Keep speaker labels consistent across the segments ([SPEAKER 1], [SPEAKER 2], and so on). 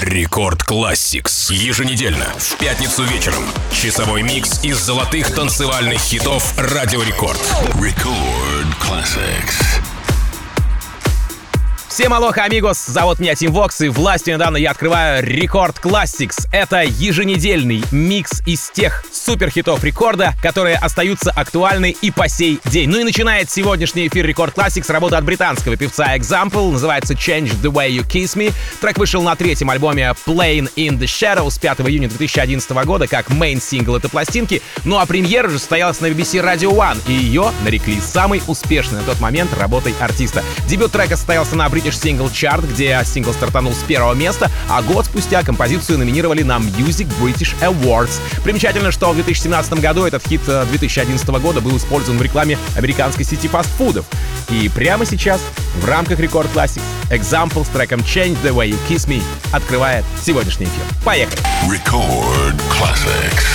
[SPEAKER 1] Рекорд Classics. Еженедельно, в пятницу вечером. Часовой микс из золотых танцевальных хитов Радио Рекорд.
[SPEAKER 2] Record Classics.
[SPEAKER 3] Всем алоха, амигос, зовут меня Тим Вокс, и властью недавно я открываю Рекорд Classics. Это еженедельный микс из тех суперхитов рекорда, которые остаются актуальны и по сей день. Ну и начинает сегодняшний эфир Рекорд Classics работа от британского певца Example, называется Change the Way You Kiss Me. Трек вышел на третьем альбоме Playing in the Shadows 5 июня 2011 года как мейн-сингл этой пластинки. Ну а премьера же состоялась на BBC Radio One, и ее нарекли самой успешной на тот момент работой артиста. Дебют трека состоялся на British Single Chart, где сингл стартанул с первого места, а год спустя композицию номинировали на Music British Awards. Примечательно, что в 2017 году этот хит 2011 года был использован в рекламе американской сети фастфудов. И прямо сейчас в рамках Record Classics Example с треком Change the Way You Kiss Me открывает сегодняшний эфир. Поехали!
[SPEAKER 2] Record Classics.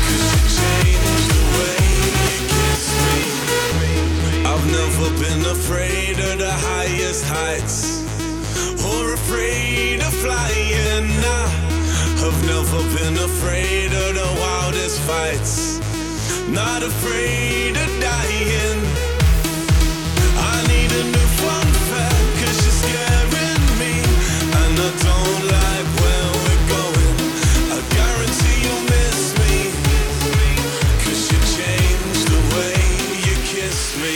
[SPEAKER 4] Heights or afraid of flying. I've never been afraid of the wildest fights, not afraid of dying. I need a new fun fact, 'cause you're scaring me, and I don't like where we're going. I guarantee you'll miss me, 'cause you changed the way you kiss me.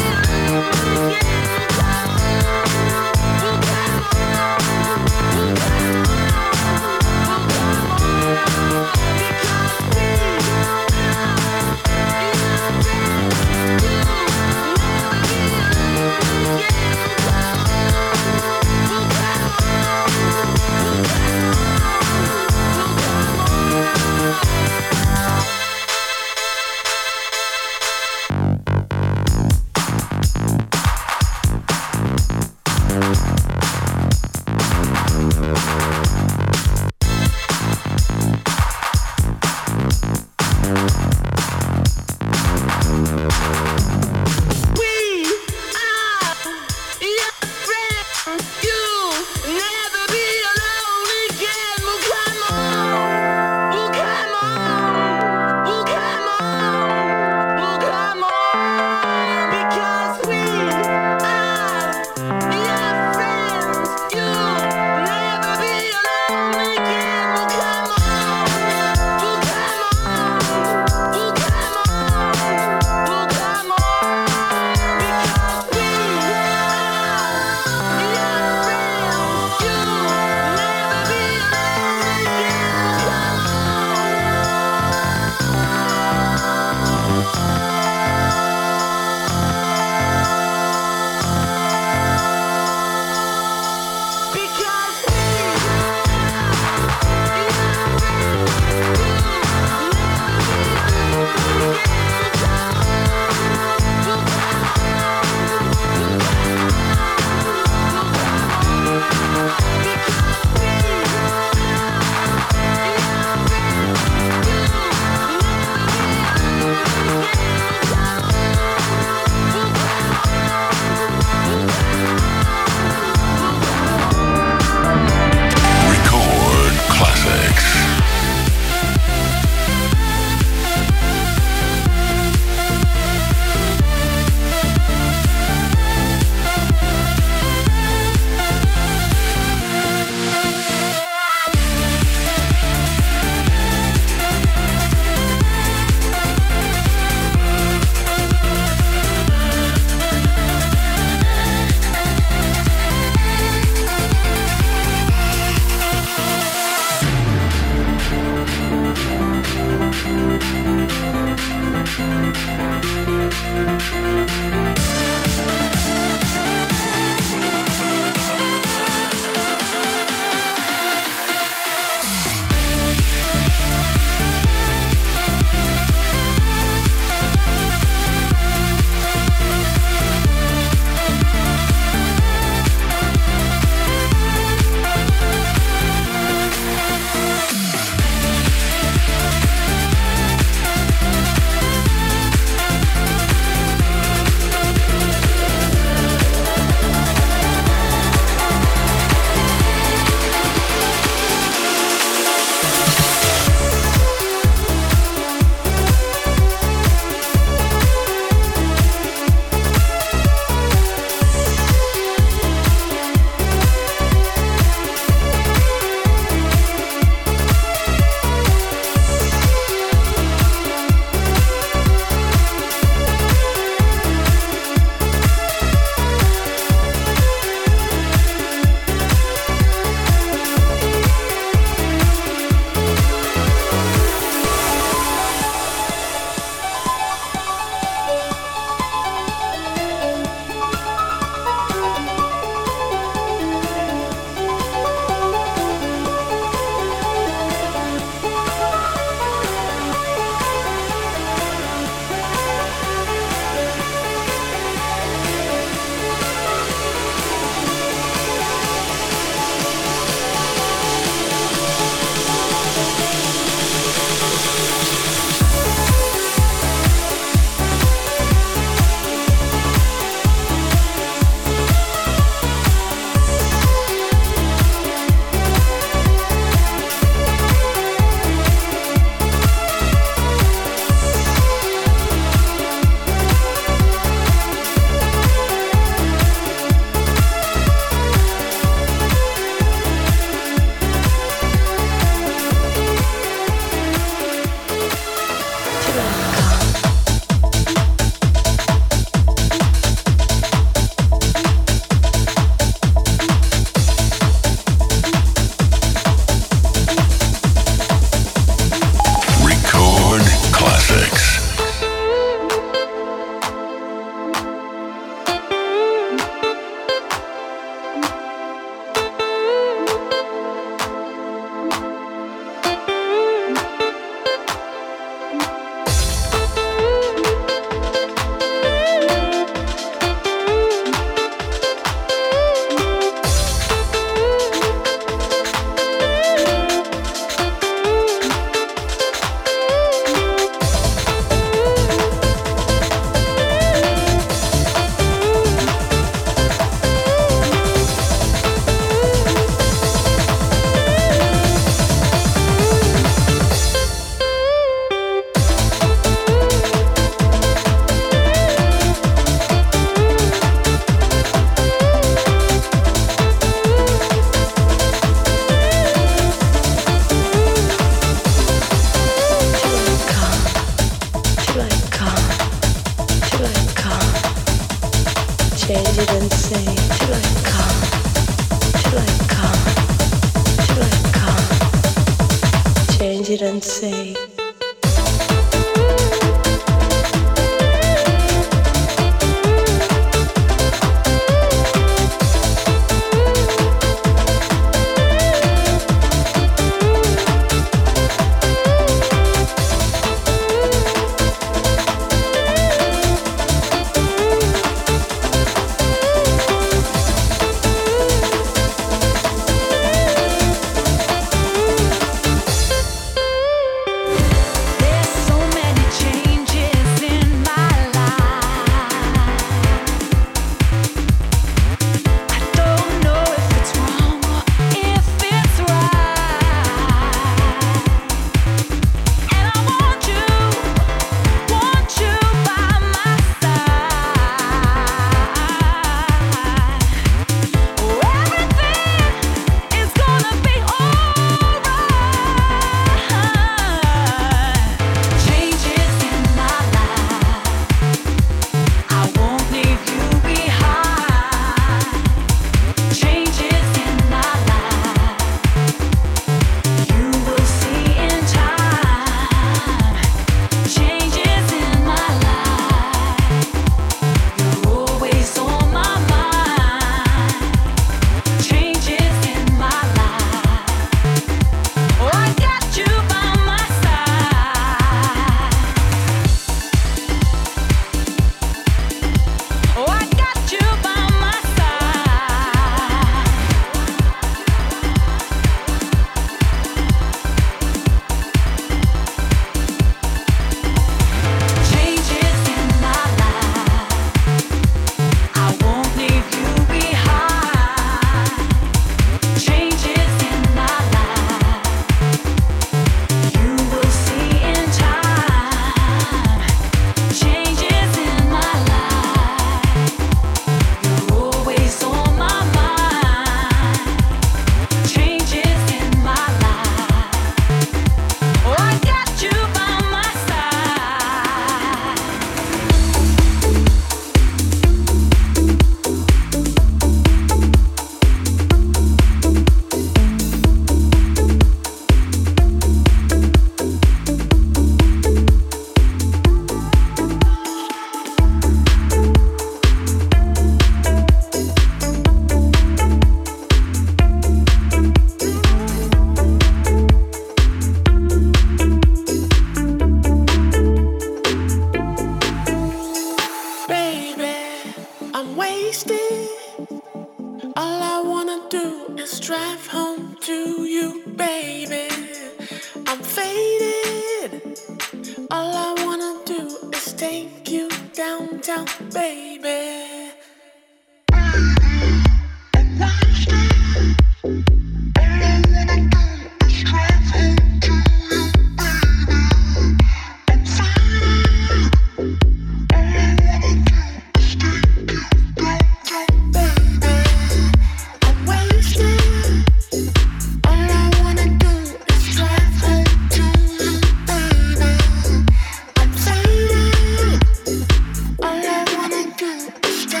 [SPEAKER 5] Stay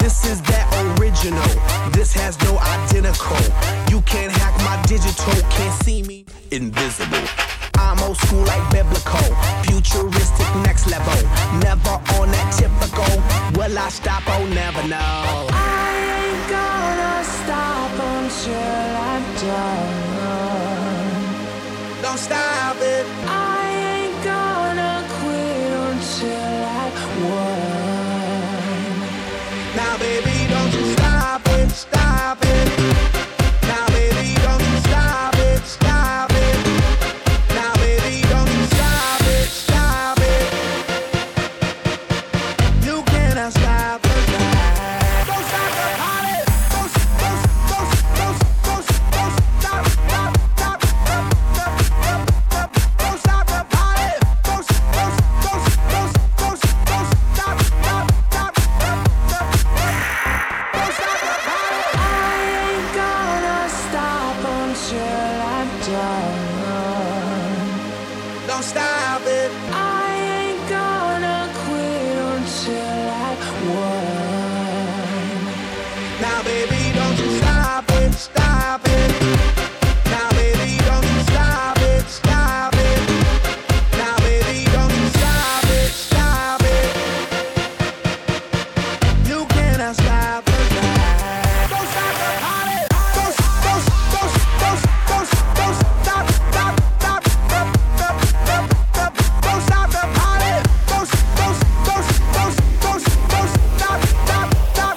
[SPEAKER 5] This is that original. This has no identical. You can't hack my digital. Can't see me. Invisible. I'm old school like biblical. Futuristic next level. Never on that typical. Will I stop? Oh, never know.
[SPEAKER 6] I ain't gonna stop until I'm done.
[SPEAKER 5] Don't stop it.
[SPEAKER 6] I ain't gonna quit until I won.
[SPEAKER 5] Now, baby, don't you stop it, stop it. Now, baby, don't you stop it, stop it. Now, baby, don't you stop it, stop it. You cannot stop it. Don't stop the party. Don't stop, stop, stop, stop, don't stop the party. Don't stop, stop, stop, stop. Don't stop it.
[SPEAKER 6] I ain't gonna quit until I won.
[SPEAKER 5] Now, baby, don't you stop it, stop it. Now, baby, don't you stop it, stop it. Now, baby, don't you stop it, stop it. You cannot stop it. Don't stop the party. Don't stop, stop, stop, stop. Don't stop the party. Don't stop, stop, stop, stop.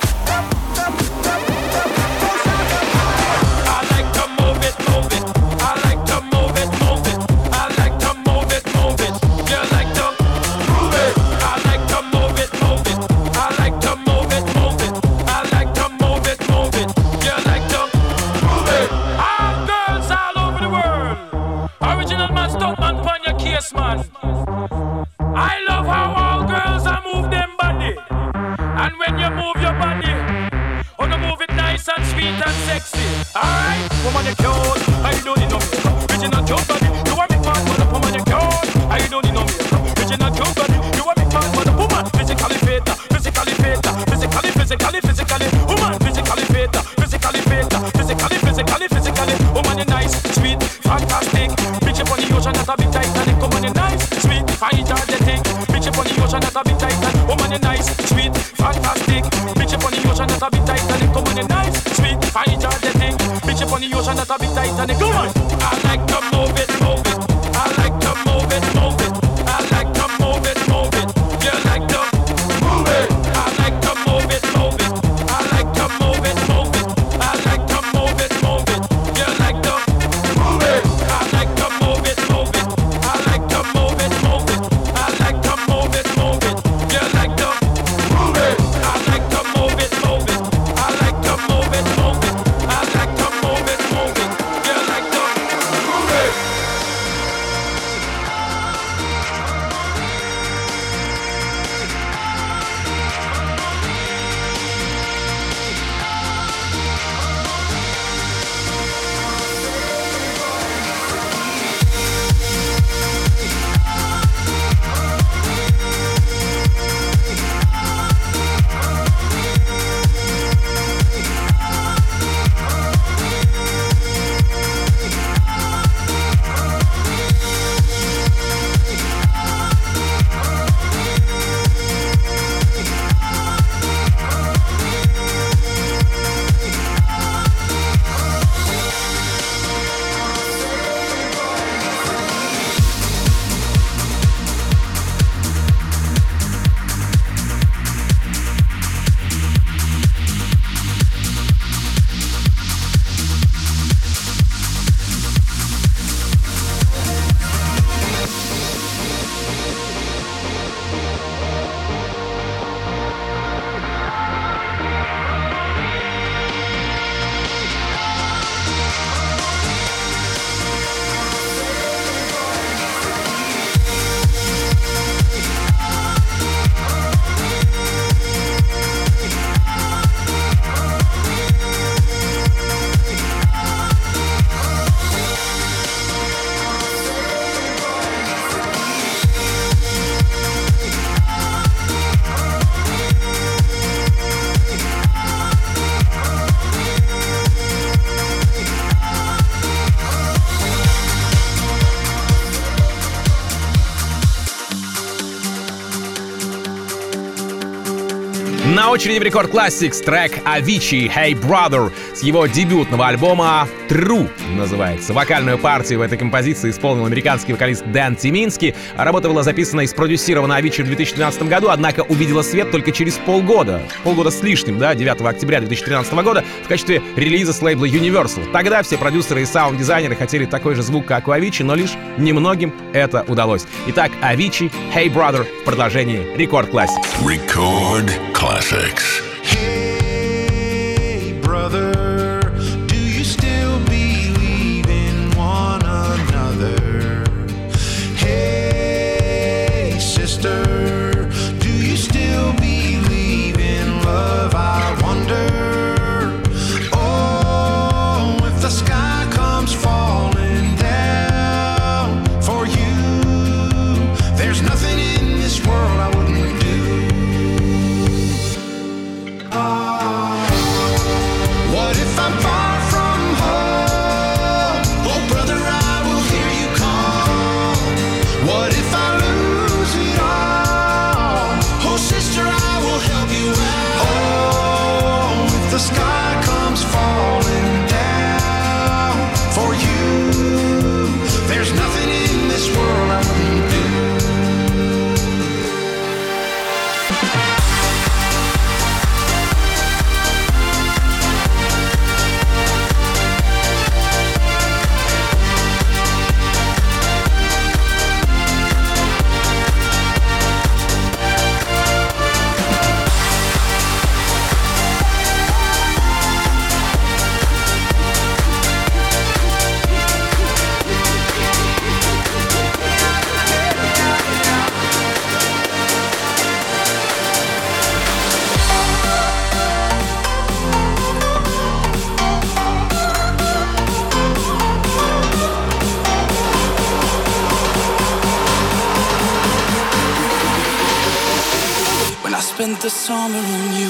[SPEAKER 7] I like to move it, move it. I like to move it, move it. I like to move it, move it. You like to move it. I like to move it, move it. I like to move it, move it. I like to move it, move it. You like to move it. All girls all over the world. Original man, stunt man, pon your case, man. I love how all girls are move them body. And when you move your body, oh, no, move it nice and sweet and sexy. Alright, woman, you cute. I don't need no makeup. Original cute body. You want me fat, but woman, you cute. I don't need no makeup. Original cute body. You want me fat, but woman, physically fit, physically fit, physically. Woman, physically fit, physically fit, physically. Woman, you nice, sweet, fantastic. Bitch up on the ocean, not a bit Titanic. Woman, you nice, sweet, energetic. Bitch up on the ocean, not a bit Titanic. Woman, you nice, sweet, fantastic. Bitch up on the ocean, not a bit Titanic. Woman, you nice, sweet, energetic. Bitch up on the ocean, not a bit Titanic. Come on, I like to move it, move it. I like to move it, move it. I like to move it, move it. You like to move it. I like to move it, move it. I like to move it, move it. I like to move it, move it. You like to move it. I like to move it, move it. I like to move it, move it. I like to move it, move it. You like to move it. I like to move it, move it. I like to move it, move it. I like to move it, move it. You like to move it.
[SPEAKER 3] очереди в Рекорд Classics трек Avicii «Hey Brother» с его дебютного альбома «True» называется. Вокальную партию в этой композиции исполнил американский вокалист Дэн Тимински. Работа была записана и спродюсирована Avicii в 2013 году, однако увидела свет только через полгода с лишним, 9 октября 2013 года в качестве релиза с лейбла Universal. Тогда все продюсеры и саунд-дизайнеры хотели такой же звук, как у Avicii, но лишь немногим это удалось. Итак, Avicii «Hey Brother» в продолжении Рекорд Classics.
[SPEAKER 2] Record Classics.
[SPEAKER 8] Hey, brother, do you still believe in one another? Hey, sister, do you still believe in love? I wonder. Oh, if the sky comes falling down for you, there's nothing in this world I wouldn't do. What if I'm far from home? Oh, brother, I will hear you call. What if I lose it all? Oh, sister, I will help you out. Oh, if the sky comes falling down for you, there's nothing in this world I wouldn't do. When I spent the summer on you.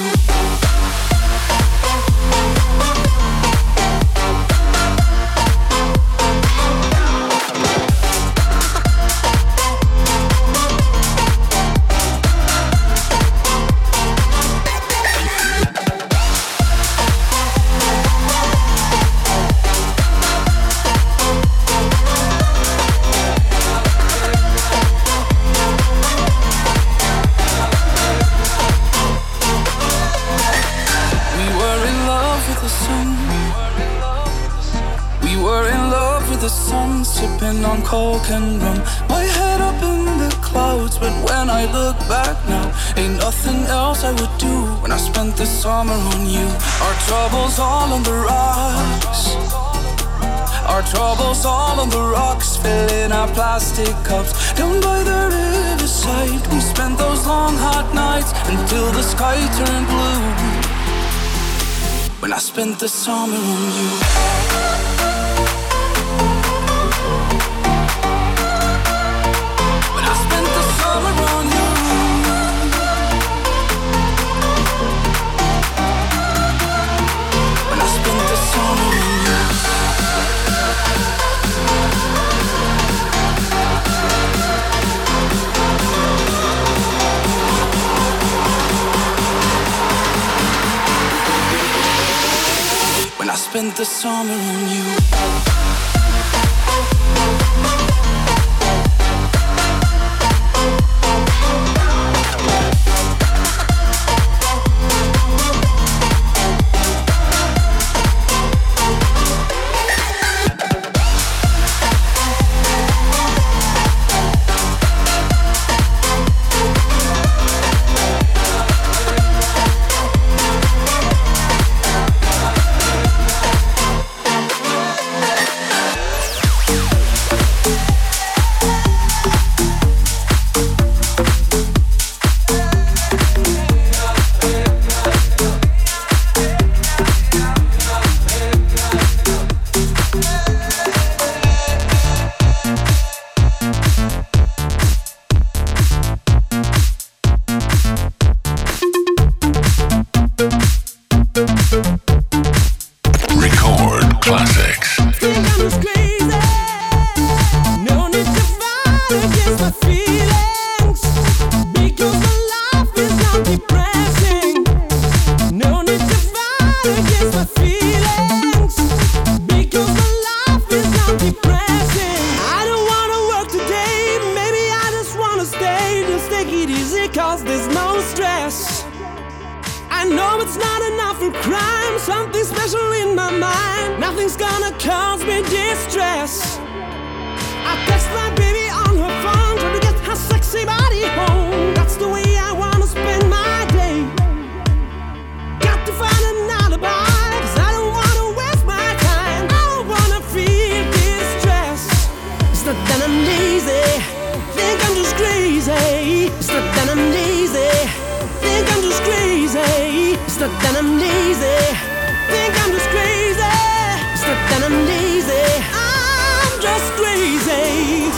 [SPEAKER 8] Sipping on coke and rum, my head up in the clouds. But when I look back now, ain't nothing else I would do. When I spent the summer on you. Our troubles all on the rocks. Our troubles all on the rocks, filling our plastic cups. Down by the riverside, we spent those long hot nights until the sky turned blue. When I spent the summer on you. Spent the summer on you.
[SPEAKER 6] Feelings, because the life is not depressing.
[SPEAKER 9] awful crime, something special in my mind. Nothing's gonna cause me distress. I text my baby on her phone, trying to get her sexy body home. That's the way I wanna spend my day. Got to find an alibi, 'cause I don't wanna waste my time. I don't wanna feel distress. It's not that I'm lazy, think I'm just crazy. It's not that I'm lazy, think I'm just crazy. It's not that I'm lazy, think I'm just crazy. It's not that I'm lazy, I'm just crazy.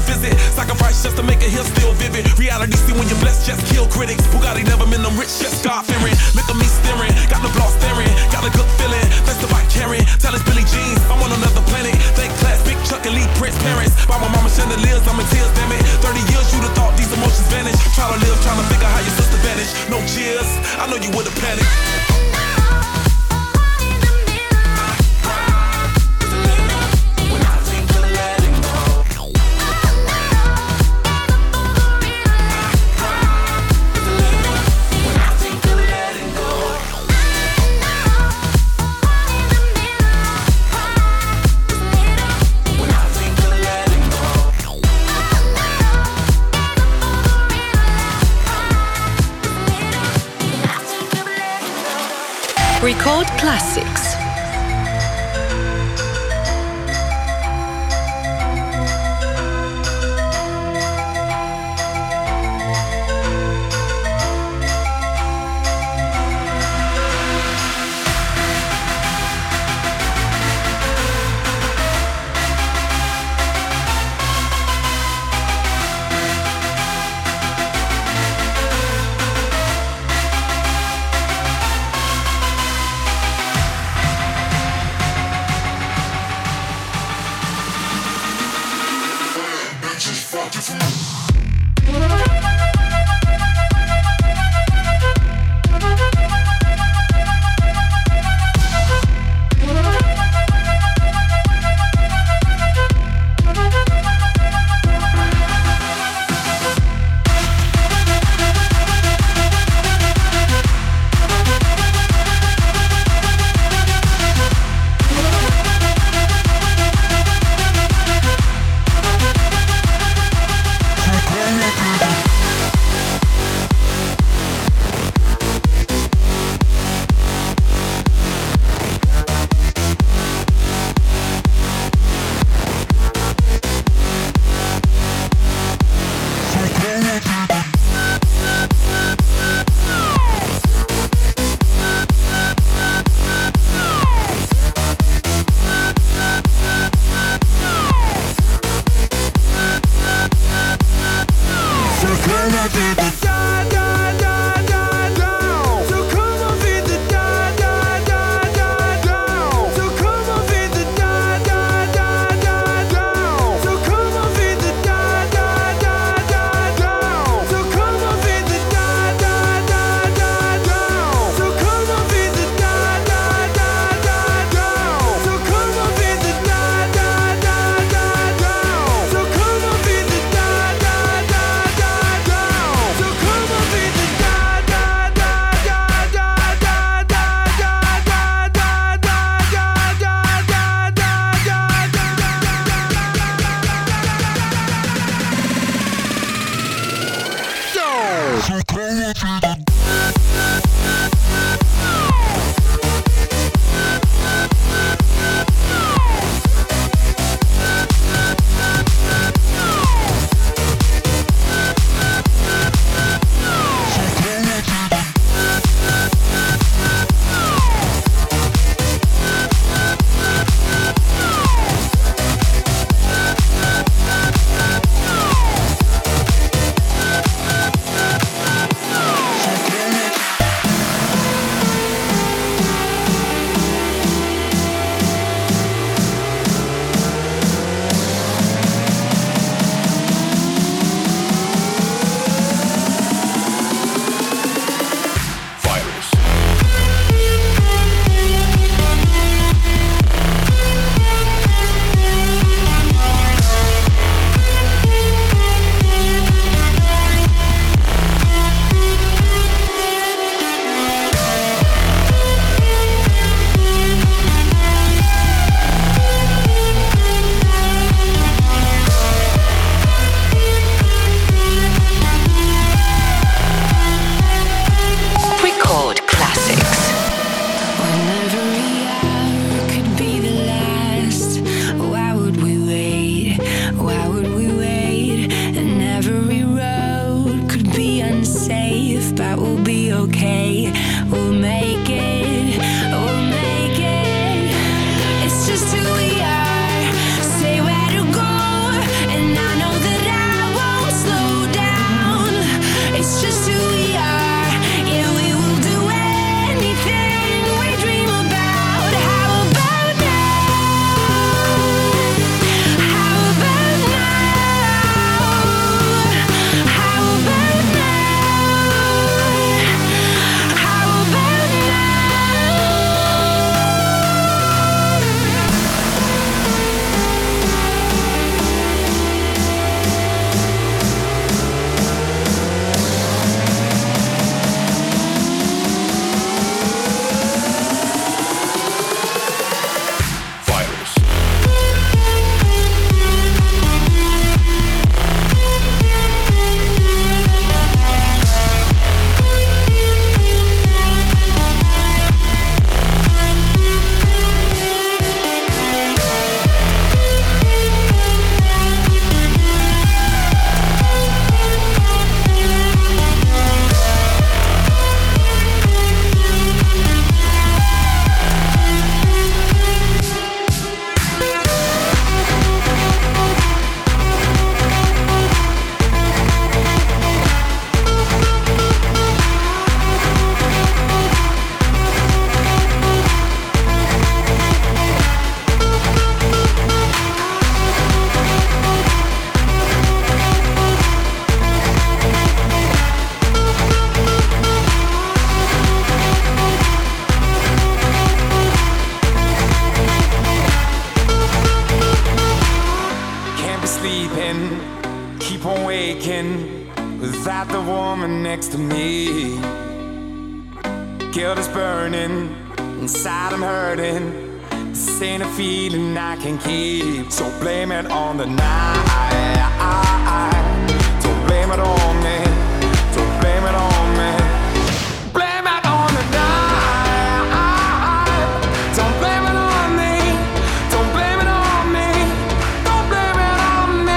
[SPEAKER 10] visit. Sacrifice just to make a hill still vivid. Reality see when you're blessed, just kill critics. Bugatti never been them rich, just God fearing. Look at me staring, got the block staring. Got a good feeling, that's the bike carrying. Tell us Billy Jeans, I'm on another planet. Think class, big Chuck and Lee Prince parents. By my mama chandeliers, I'm in tears, damn it. 30 years you'd have thought these emotions vanish. Try to live, trying to figure how your sister vanished. No cheers, I know you would've panicked.
[SPEAKER 11] Record Classics.
[SPEAKER 12] dreaming, keep on waking without the woman next to me. Guilt is burning, inside I'm hurting. This ain't a feeling I can keep. So blame it on the night. Don't blame it on me. Don't blame it on me. Blame it on the night. Don't blame it on me. Don't blame it on me. Don't blame it on me.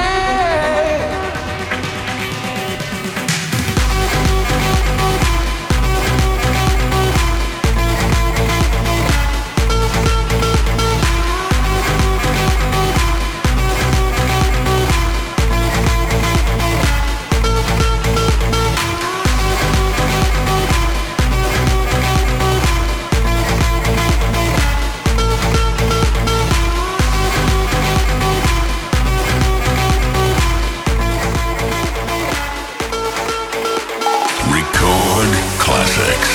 [SPEAKER 2] Record classics.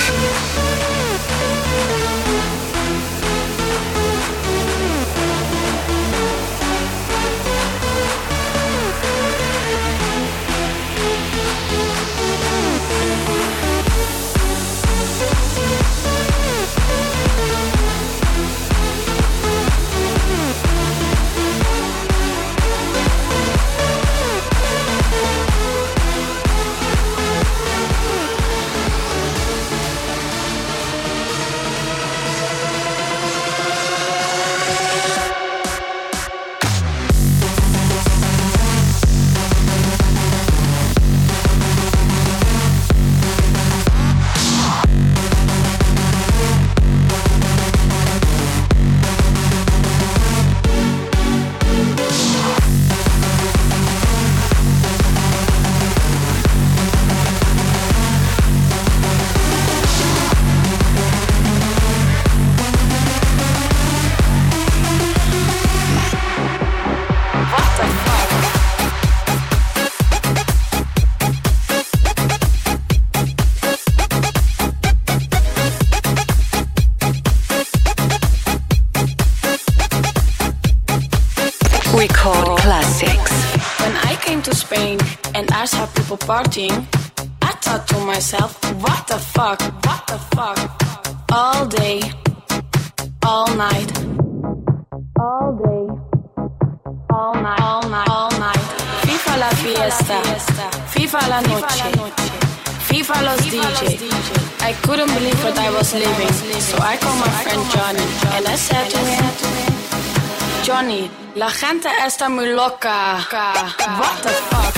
[SPEAKER 11] Record classics.
[SPEAKER 13] When I came to Spain and I saw people partying, I thought to myself, what the fuck, what the fuck? All day, all night, all day, all night, all night, all night. FIFA la fiesta, FIFA la noche, FIFA los DJ. I couldn't believe what I was living, so I called my friend Johnny and I said to him, Johnny, la gente está muy loca. What the fuck?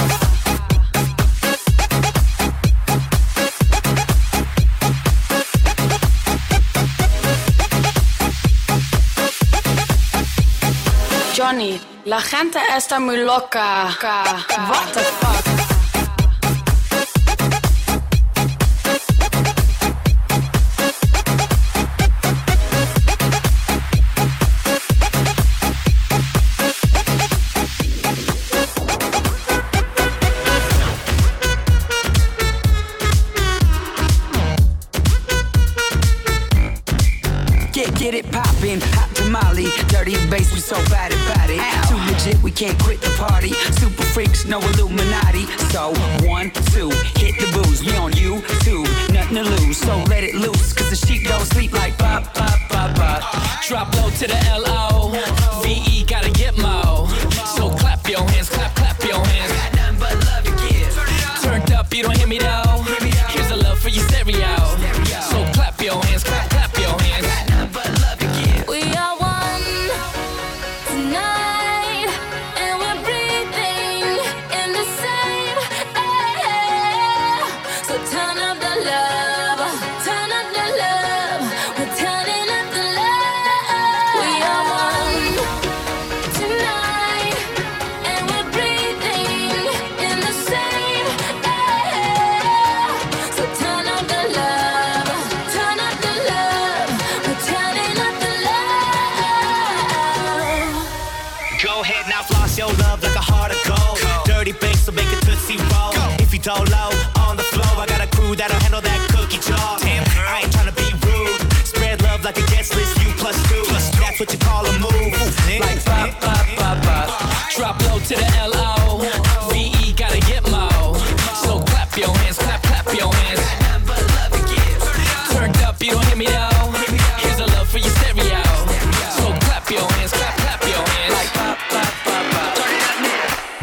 [SPEAKER 13] Johnny, la gente está muy loca. What the fuck?
[SPEAKER 14] Get it poppin', hot tamale, dirty bass, we so bad about it. Too legit, we can't quit the party. Super freaks, no Illuminati. So 1, 2, hit the booze. We on YouTube, nothing to lose. So let it loose, cause the sheep don't sleep like pop, pop, pop, pop.
[SPEAKER 15] Drop low to the L-O-V-E, gotta get mo. So clap your hands, clap, clap your hands.
[SPEAKER 14] Got nothing but love to give.
[SPEAKER 15] Turned up, you don't hear me though. Here's a love for your stereo. So clap your hands, clap, clap your hands.
[SPEAKER 14] Got nothing but love to give.
[SPEAKER 6] We are one tonight, and we're breathing in the same air. So turn up the love, turn up the love. We're turning up the love. We are one tonight, and we're breathing in the same air. So turn up the love, turn up the love. We're turning up the love.
[SPEAKER 16] Go ahead now, floss your love like a heart of gold. Dirty bass, so make it tootsie roll. If you don't low on the floor, I got a crew that'll handle that cookie jar. Damn, I ain't tryna be rude. Spread love like a guest list, you plus two. That's what you call a move.
[SPEAKER 15] Like pop, pop, pop, pop. Drop low to the L-O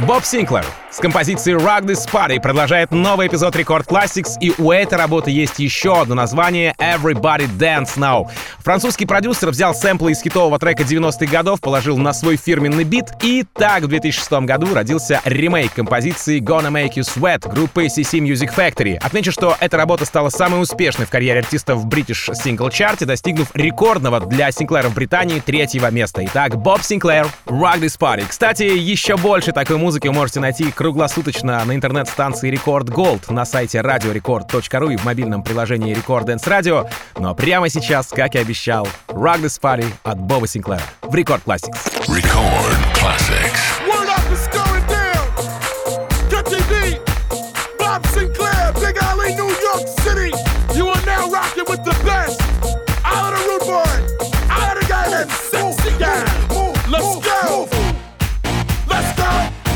[SPEAKER 3] Боб Синклер с композицией Rock This Party продолжает новый эпизод Record Classics, и у этой работы есть еще одно название — Everybody Dance Now. Французский продюсер взял сэмплы из хитового трека 90-х годов, положил на свой фирменный бит, и так в 2006 году родился ремейк композиции Gonna Make You Sweat группы CC Music Factory. Отмечу, что эта работа стала самой успешной в карьере артиста в British Single Chart, достигнув рекордного для Синклера в Британии 3-го места. Итак, Боб Синклер, Rock This Party. Кстати, еще больше такой музыки вы можете найти круглосуточно на интернет-станции Record Gold, на сайте radiorecord.ru и в мобильном приложении Record Dance Radio. Но прямо сейчас, как и обещал, Rock This Party от Боба Синклера в Record Classics.
[SPEAKER 2] Record Classics.
[SPEAKER 17] Word up is going down. KTD, Bob Sinclair, Big Alley, New York City. You are now rocking with the best. Out of the rude boy, out of the guy that's sexy guy. Let's go. Let's go.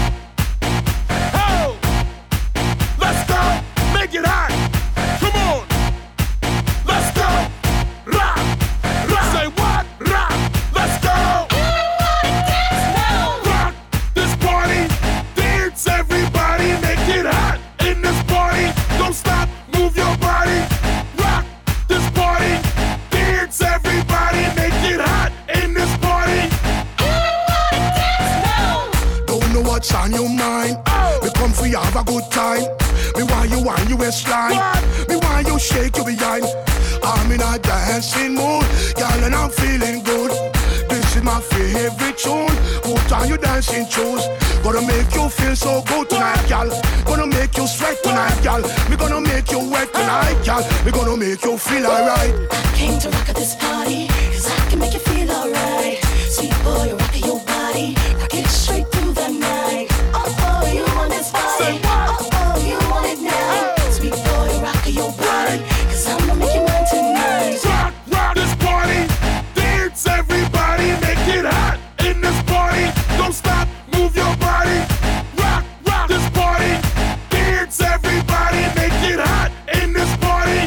[SPEAKER 17] Ho. Let's go. Make it hot. Come on. Let's go. Rock. Rock. Say what? Rock. Let's go. Rock this party. Dance everybody. Make it hot in this party. Don't stop. Move your body. Rock this party. Dance everybody. Make it hot in this party.
[SPEAKER 18] Don't know what's on your mind. We come for you, have a good time. Me want you on your waistline. Me want you shake your behind. I'm in a dancing mood, girl, and I'm feeling good. This is my favorite tune. Put on your dancing shoes. Gonna make you feel so good tonight, girl. Gonna make you sweat tonight, girl. We gonna make you wet tonight, girl. We gonna make you feel alright.
[SPEAKER 19] I came to rock at this party, 'cause I can make you feel alright. Sweet boy, you're rocking your body. Rock it straight through the night. Oh, you want this body. Oh, you want it now. Sweet boy, you're rocking your body. 'Cause I'm gonna make you mine tonight.
[SPEAKER 17] Rock, rock this party. Dance everybody. Make it hot in this party. Don't stop, move your body. Rock, rock this party. Dance everybody. Make it hot in this party.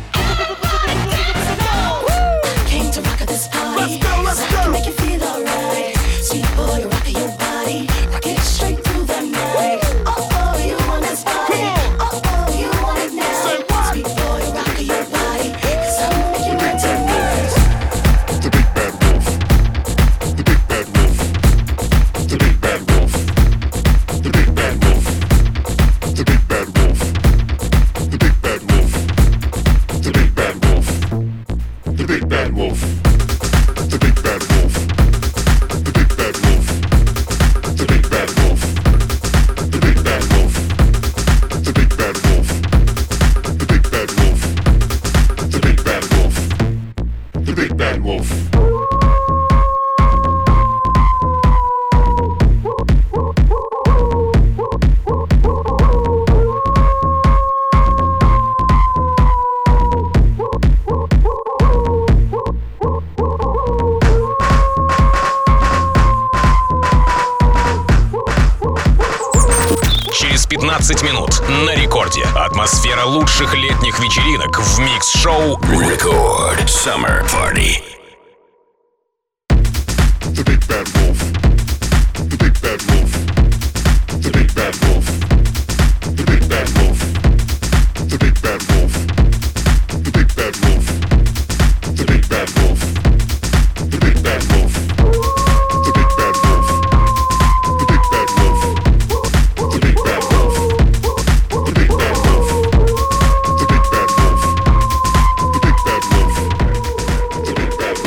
[SPEAKER 19] Came to rock at this party.
[SPEAKER 17] Let's go, let's
[SPEAKER 19] 'Cause I
[SPEAKER 17] go.
[SPEAKER 19] can make you feel alright. Sweet boy, you're rocking your body. Rock it straight through the night. Oh, you want this body. Oh, you want it now. Sweet boy, you're rocking your body. 'Cause I'm gonna make you mine tonight.
[SPEAKER 2] The big bad wolf. The big bad wolf. The big bad wolf. The big bad wolf. The big bad wolf. The big bad wolf. The big bad wolf. The big bad wolf. The big bad wolf. The big bad wolf. The big bad wolf. The big bad wolf. The big bad wolf. The big bad wolf. The big bad wolf. The big bad wolf.
[SPEAKER 1] Через 15 минут на рекорде. Атмосфера лучших летних вечеринок в микс-шоу
[SPEAKER 2] Record Summer Party. The big bad wolf. The big bad wolf. The big bad wolf. The big bad wolf. The big bad wolf. The big bad wolf. The big bad wolf. The big bad wolf. The big bad wolf. The big bad wolf. The big bad wolf. The big bad wolf. The big bad wolf. The big bad wolf. The big bad wolf.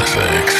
[SPEAKER 20] Classics.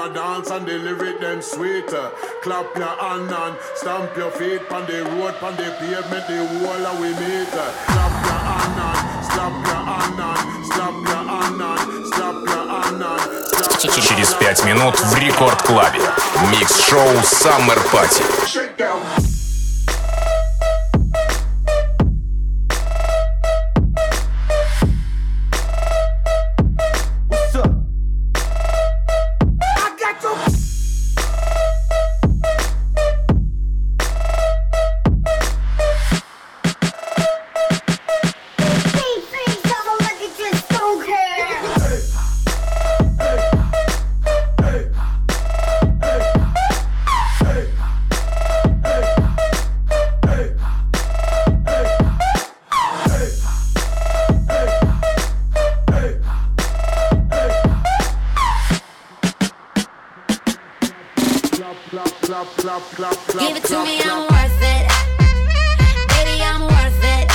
[SPEAKER 17] a dance and the lyric them sweet. Clap your hand and stamp your feet on the road, on the pavement, the wall of we meet. Clap your hand and slap your hand and slap your hand and slap your hand and.
[SPEAKER 1] Через 5 минут в Рекорд Клабе. Микс-шоу Summer Party.
[SPEAKER 6] Give it to me, I'm worth it. Baby, I'm worth it.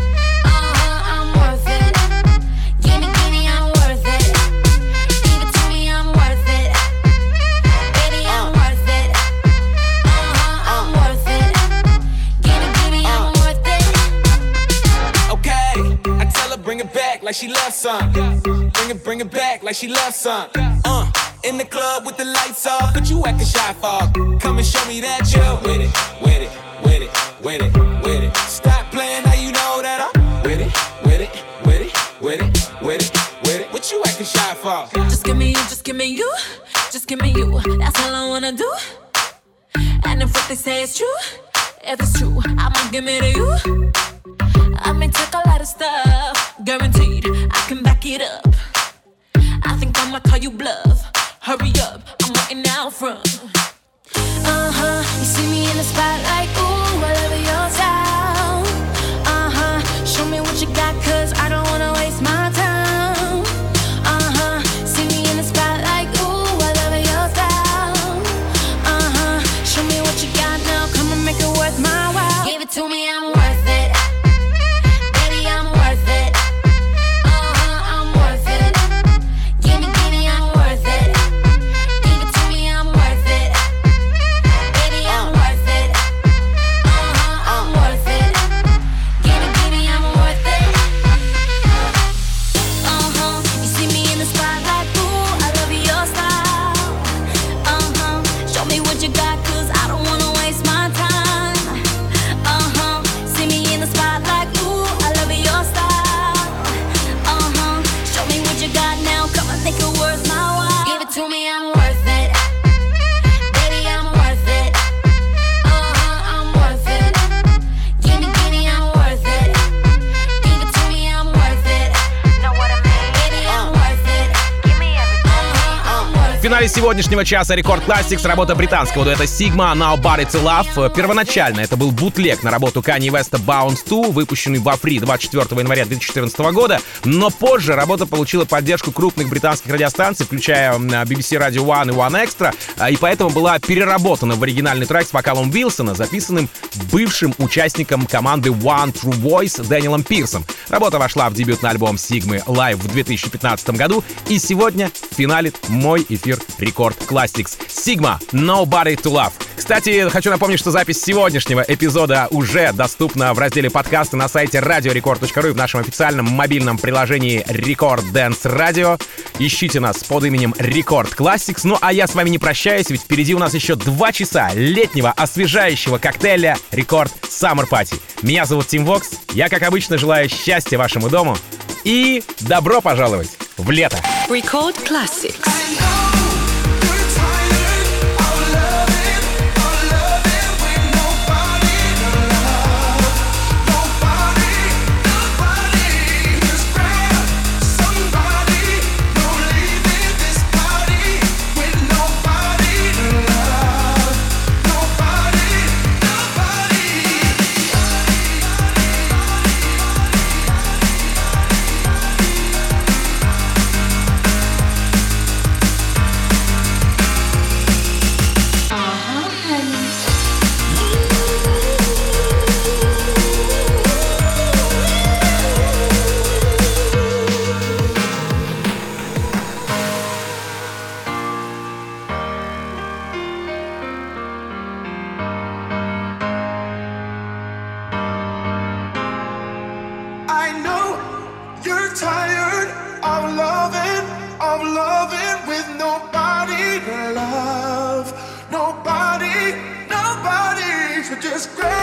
[SPEAKER 6] I'm worth it. Give me, I'm worth it. Give it to me, I'm worth it. Baby, I'm worth it. I'm worth it. Give me, I'm worth it.
[SPEAKER 15] Okay, I tell her bring it back like she loves some. Bring it back like she loves some. In the club with the lights off, but you acting shy for. Come and show me that you're with it, with it, with it, with it, with it. Stop playing, now you know that I'm with it, with it, with it, with it, with it, with it. What you acting shy for?
[SPEAKER 6] Just give me you, just give me you, just give me you. That's all I wanna do. And if what they say is true, if it's true, I'ma give it to you. I may take a lot of stuff, guaranteed I can back it up. I think I'ma call you bluff. Hurry up, I'm waiting out front. You see me in the spotlight, ooh, I love your style. Show me what you got, cause I don't wanna waste my time. See me in the spotlight, ooh, I love your style. Show me what you got now, come and make it worth my while. Give it to me, I'm worth it. Baby, I'm worth it. I'm worth it. Give me, I'm worth it. Give it to me, I'm worth it. Baby, I'm worth it. I'm worth it. Give me, I'm worth it. You see me in the spotlight, ooh, I love your style. Show me what you got, cause I don't wanna waste my time. See me in the spotlight, ooh, I love your style. Show me what you got now, come and make it worth my while. Give it to me, I'm worth it. Baby, I'm worth it. I'm worth it. Give me, I'm worth it. Give it to me, I'm worth it. Know what I mean? Baby, I'm worth it. Give me everything. I'm worth it.
[SPEAKER 3] В финале сегодняшнего часа Рекорд Classics работа британского дуэта Sigma Nobody to Love. Первоначально это был бутлег на работу Kanye West Bounce 2, выпущенный во Free 24 января 2014 года, но позже работа получила поддержку крупных британских радиостанций, включая BBC Radio One и One Extra, и поэтому была переработана в оригинальный трек с вокалом Уилсона, записанным бывшим участником команды One True Voice Дэниелом Пирсом. Работа вошла в дебютный альбом Sigma Live в 2015 году, и сегодня финалит мой эфир Рекорд Classics. Sigma Nobody to Love. Кстати, хочу напомнить, что запись сегодняшнего эпизода уже доступна в разделе подкасты на сайте radiorecord.ru и в нашем официальном мобильном приложении Record Dance Radio. Ищите нас под именем Record Classics. Ну а я с вами не прощаюсь, ведь впереди у нас еще 2 часа летнего освежающего коктейля Record Summer Party. Меня зовут Тим Вокс. Я, как обычно, желаю счастья вашему дому и добро пожаловать в лето.
[SPEAKER 11] Record Classics.
[SPEAKER 20] is great.